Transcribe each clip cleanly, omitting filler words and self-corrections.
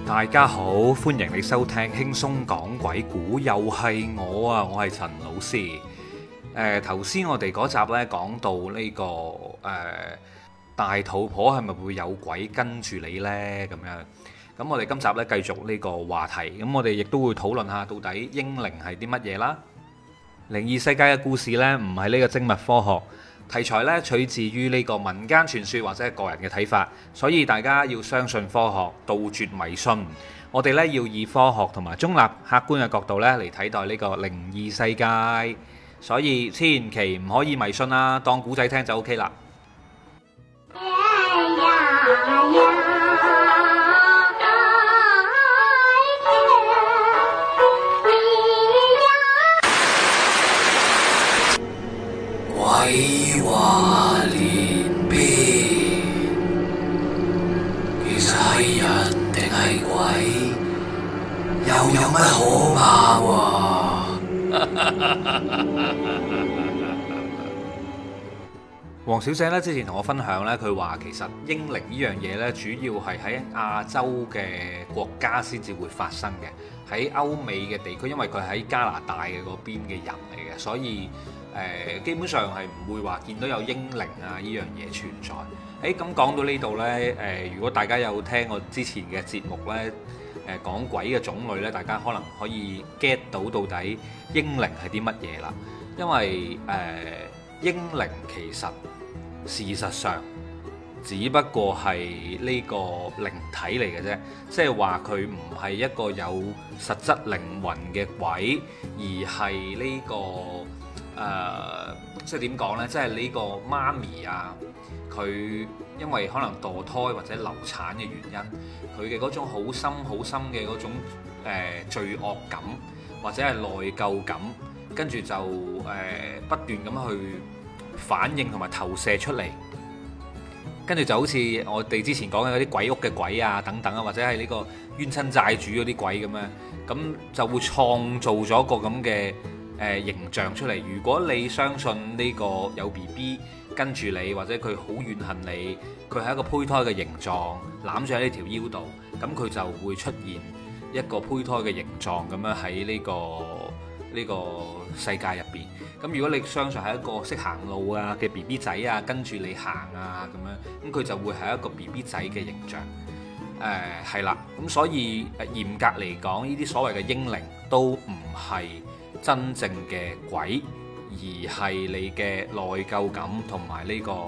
大家好，歡迎你收聽輕鬆講鬼故，又係我啊，我係陳老師。頭先我哋嗰集呢講到呢個大肚婆係咪會有鬼跟住你呢？咁樣，咁我哋今集呢繼續呢個話題，咁我哋亦都會討論下到底嬰靈係啲乜嘢啦。靈異世界嘅故事呢，唔係呢個精密科學。題材咧取自於呢個民間傳說或者係個人嘅睇法，所以大家要相信科學，杜絕迷信。我哋咧要以科學同埋中立客觀嘅角度咧嚟睇待呢個靈異世界，所以千祈唔可以迷信啦，當古仔聽就 OK 啦。 鬼話連篇，其實係人定係鬼，又有乜可怕喎？ 黃小姐咧之前同我分享咧，佢話其實嬰靈呢樣嘢咧，主要係喺亞洲嘅國家先至會發生嘅，喺歐美嘅地區，因為佢喺加拿大嘅嗰邊嘅人嚟嘅，所以基本上係唔會話見到有嬰靈啊呢樣嘢存在。咁講到呢度呢，如果大家有聽我之前嘅節目呢，講鬼嘅種類呢，大家可能可以 get 到到底嬰靈係啲乜嘢啦。因為嬰靈其實事實上只不過係呢個靈體嚟嘅啫，即係話佢唔係一個有實質靈魂嘅鬼，而係呢個即係點講呢？即係呢個媽咪啊，佢因為可能墮胎或者流產嘅原因，佢嘅嗰種好深好深嘅嗰種罪惡感或者係內疚感，跟住就不斷咁去反應同埋投射出嚟，跟住就好似我哋之前講嘅嗰啲鬼屋嘅鬼啊等等啊，或者係呢個冤親債主嗰啲鬼咁樣，咁就會創造咗個咁嘅形象出嚟。如果你相信呢個有 BB 跟住你，或者佢好怨恨你，佢係一個胚胎嘅形狀攬住喺呢條腰度，咁佢就會出現一個胚胎嘅形狀咁樣喺呢個世界入邊。咁如果你相信係一個識行路啊嘅 BB 仔啊跟住你行啊咁樣，咁佢就會係一個 BB 仔嘅形象。係啦，咁所以嚴格嚟講，呢啲所謂嘅嬰靈都唔係真正嘅鬼，而係你嘅內疚感同埋呢個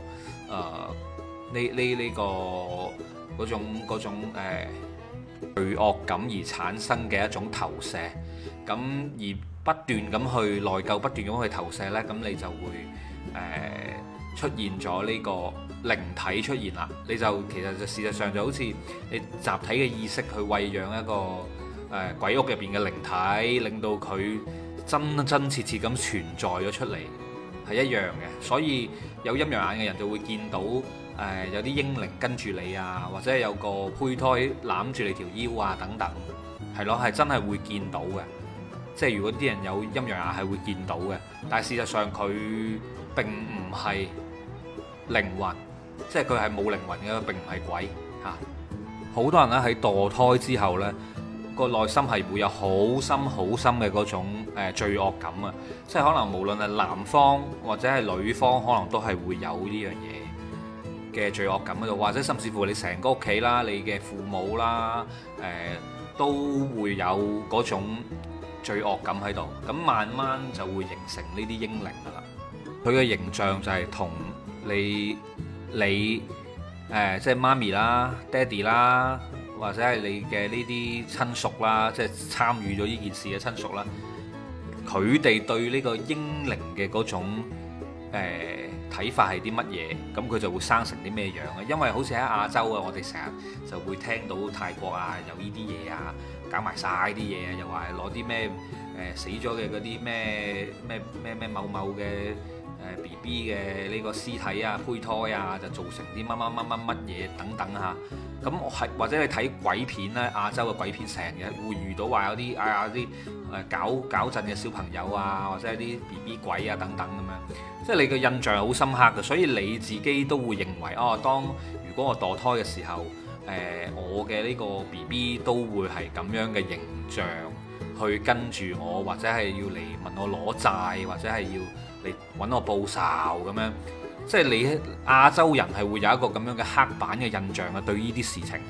嗰種罪惡感而產生嘅一種投射。咁而不斷咁去內疚，不斷咁去投射呢，咁你就會出現咗呢個靈體出現啦。你就其實就事實上就好似你集體嘅意識去餵養一個鬼屋入邊嘅靈體，令到佢真真切切咁存在咗出嚟，係一樣嘅。所以有陰陽眼嘅人就會見到有啲嬰靈跟住你啊，或者有個胚胎攬住你條腰啊等等，係咯，係真係會見到嘅。即係如果啲人有陰陽眼係會見到嘅，但係事實上佢並唔係靈魂，即係佢係冇靈魂嘅，並唔係鬼嚇。好多人咧喺墮胎之後呢，個內心係會有好深好深嘅嗰種罪惡感啊！即係可能無論係男方或者係女方，可能都係會有呢樣嘢嘅罪惡感喺度，或者甚至乎你成個屋企啦，你嘅父母啦，都會有嗰種罪惡感喺度，咁慢慢就會形成呢啲嬰靈噶啦。佢嘅形象就係同你即係媽咪啦、爹哋啦，或者係你嘅呢啲親屬啦，即係參與咗呢件事嘅親屬啦，佢哋對呢個嬰靈嘅嗰種睇法係啲乜嘢，咁佢就會生成啲咩樣啊？因為好似喺亞洲啊，我哋成日就會聽到泰國啊有呢啲嘢啊，搞埋晒啲嘢啊，又話攞啲咩死咗嘅嗰啲咩某某嘅BB 嘅呢個屍體啊、胚胎啊，就造成啲乜嘢等等嚇。咁係或者你睇鬼片咧，亞洲嘅鬼片成日會遇到話有啲啲搞震嘅小朋友啊，或者係啲 BB 鬼啊等等咁樣，即係你嘅印象係好深刻嘅，所以你自己都會認為當如果我墮胎嘅時候， 我嘅呢個 BB 都會係咁樣嘅形象去跟住我，或者係要嚟問我攞債，或者係要嚟揾我報仇咁樣。即係你亞洲人係會有一個咁樣嘅刻板嘅印象啊，對呢啲事情，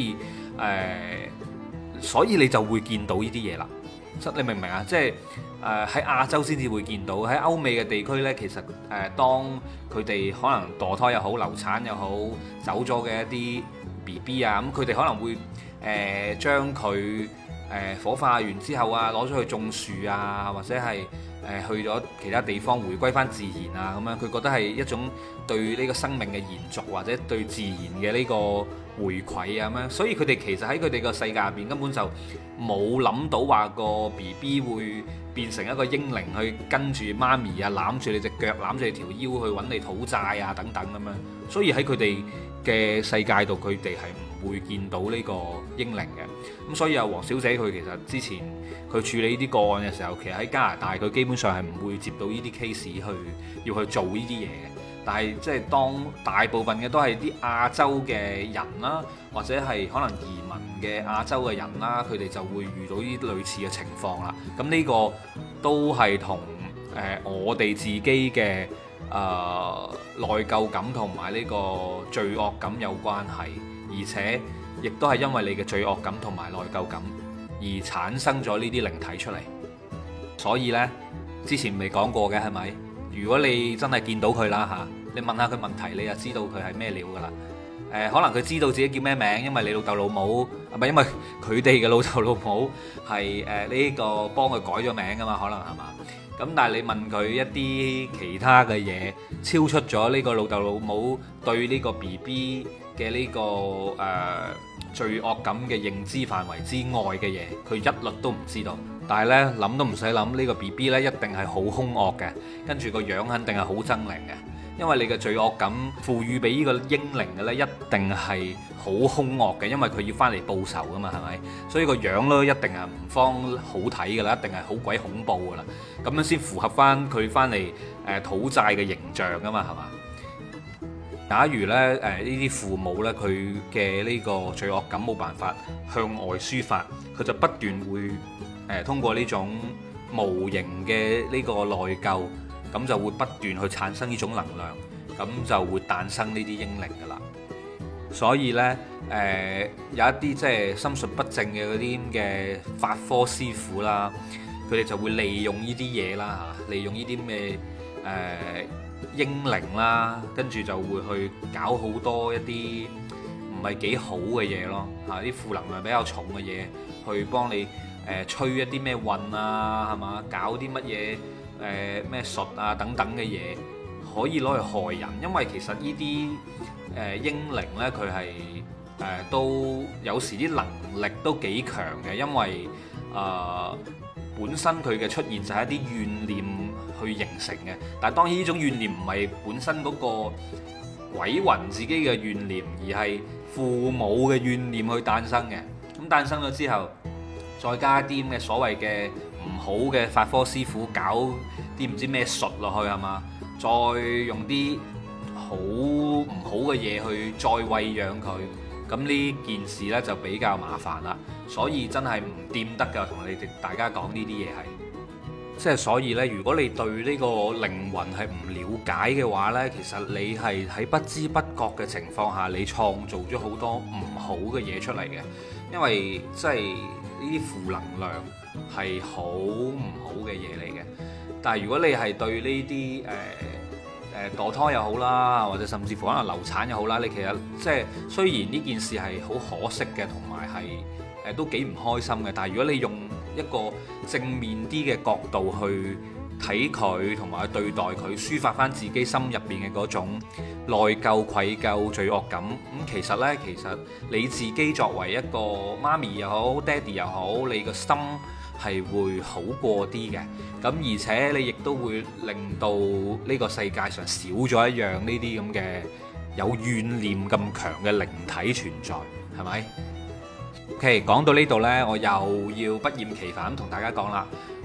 所以你就會見到呢啲嘢啦。你明唔明啊？即係喺亞洲先至會見到，喺歐美嘅地區呢，其實當佢哋可能墮胎又好、流產又好、走咗嘅一啲 BB 啊，咁佢哋可能會將佢火化完之後啊，攞咗去種樹啊，或者係去咗其他地方回歸翻自然啊，咁樣佢覺得係一種對呢個生命嘅延續，或者對自然嘅呢個回饋啊咁樣，所以佢哋其實喺佢哋個世界入邊根本就冇諗到話個 BB 會變成一個嬰靈去跟住媽咪啊，攬住你隻腳，攬住你條腰去揾你討債啊等等咁樣，所以喺佢哋嘅世界度，佢哋係唔會見到呢個嬰靈嘅。咁所以黃小姐佢其實之前佢處理呢啲個案嘅時候，其實喺加拿大佢基本上係唔會接到呢啲 case 要去做呢啲嘢嘅。但係即係當大部分嘅都係啲亞洲嘅人啦，或者係可能移民嘅亞洲嘅人啦，佢哋就會遇到呢啲類似嘅情況啦。咁呢個都係同我哋自己嘅內疚感同埋呢個罪惡感有關係，而且亦都係因為你嘅罪惡感同埋內疚感而產生咗呢啲靈體出嚟。所以呢，之前未講過嘅係咪？如果你真係見到佢啦嚇，你問下佢問題，你就知道佢係咩料噶啦。可能佢知道自己叫咩名，因為你老豆老母，唔係因為佢哋嘅老豆老母係呢個幫佢改咗名噶嘛，可能係嘛？咁但係你問佢一啲其他嘅嘢，超出咗呢個老豆老母對呢個 BB 嘅呢個罪惡感嘅認知範圍之外嘅嘢，佢一律都唔知道。但係呢，諗都唔使諗，呢個 BB 呢一定係好兇惡嘅，跟住個樣肯定係好猙獰嘅，因為你嘅罪惡感賦予俾呢個嬰靈嘅呢，一定係好兇惡嘅，因為佢要翻嚟報仇噶嘛，係咪？所以個樣呢，一定係唔方好睇噶啦，一定係好鬼恐怖噶啦，咁樣先符合翻佢翻嚟討債嘅形象噶嘛，係嘛？假如咧呢啲父母呢，佢嘅呢個罪惡感冇辦法向外抒發，佢就不斷會通過呢種無形嘅呢個內疚，咁就會不斷去產生呢種能量，咁就會誕生呢啲嬰靈噶啦。所以呢，有一啲即係心術不正嘅嗰啲嘅法科師傅啦，佢哋就會利用呢啲嘢啦嚇，利用呢啲咩嬰靈啦，跟住就會去搞好多一啲唔係幾好嘅嘢咯嚇，啲負能量比較重嘅嘢，去幫你吹一啲咩運啊，係嘛？搞啲乜嘢咩術啊等等嘅嘢，可以攞嚟害人。因為其實呢啲嬰靈呢，佢係都有時啲能力都幾強嘅，因為本身佢嘅出現就係一啲怨念去形成嘅。但係當然呢種怨念唔係本身嗰個鬼魂自己嘅怨念，而係父母嘅怨念去誕生嘅。咁誕生咗之後，再加啲咁嘅所謂嘅唔好嘅法科師傅搞啲唔知咩術落去係嘛，再用啲好唔好嘅嘢去再餵養佢，咁呢件事呢就比較麻煩啦。所以真係唔掂得㗎，同你哋大家講呢啲嘢係，即係所以呢，如果你對呢個靈魂係唔了解嘅話呢，其實你係喺不知不覺嘅情況下，你創造咗好多唔好嘅嘢出嚟嘅，因為即係呢啲負能量係好唔好嘅嘢嚟嘅。但係如果你係對呢啲墮胎又好啦，或者甚至乎可能流產又好啦，你其實即係雖然呢件事係好可惜嘅，同埋係都幾唔開心嘅，但係如果你用一個正面啲嘅角度去睇佢，同埋去對待佢，抒發翻自己心入邊嘅嗰種內疚、愧疚、罪惡感，咁其實呢，其實你自己作為一個媽咪又好、爹哋又好，你個心係會好過啲嘅。咁而且你亦都會令到呢個世界上少咗一樣呢啲咁嘅有怨念咁強嘅靈體存在，係咪？OK， 講到呢度呢，我又要不厭其煩咁同大家講啦。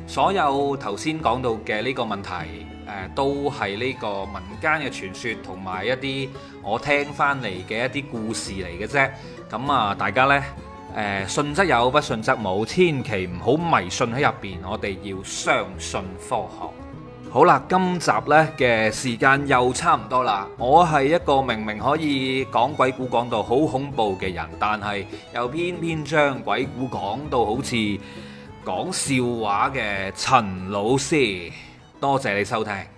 所有頭先講到嘅呢個問題，都係呢個民間嘅傳說同埋一啲我聽翻嚟嘅一啲故事嚟嘅啫。咁啊，大家呢，信則有，不信則冇，千祈唔好迷信喺入邊。我哋要相信科學。好啦，今集呢嘅時間又差唔多啦。我係一個明明可以講鬼故講到好恐怖嘅人，但係又偏偏將鬼故講到好似講笑話嘅陳老師。多謝你收聽。